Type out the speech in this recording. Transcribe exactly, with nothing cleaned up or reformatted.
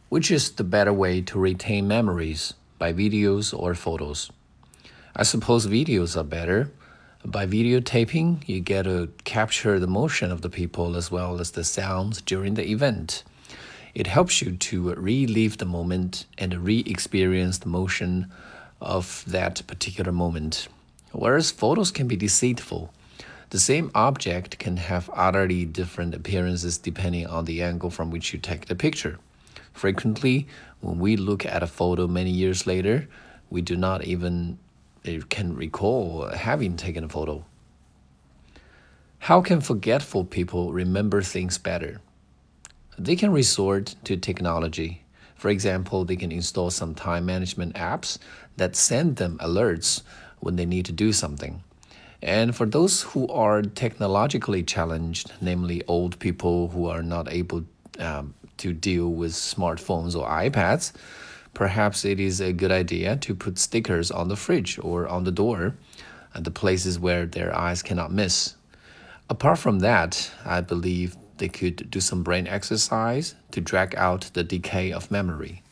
Which is the better way to retain memories, by videos or photos? I suppose videos are better. By videotaping, you get to capture the motion of the people as well as the sounds during the event. It helps you to relive the moment and re-experience the motion of that particular moment. Whereas photos can be deceitful. The same object can have utterly different appearances depending on the angle from which you take the picture. Frequently, when we look at a photo many years later, we do not even uh, can recall having taken a photo. How can forgetful people remember things better? They can resort to technology. For example, they can install some time management apps that send them alerts when they need to do something. And for those who are technologically challenged, namely old people who are not able um, to deal with smartphones or iPads, perhaps it is a good idea to put stickers on the fridge or on the door at the places where their eyes cannot miss. Apart from that, I believe they could do some brain exercise to drag out the decay of memory.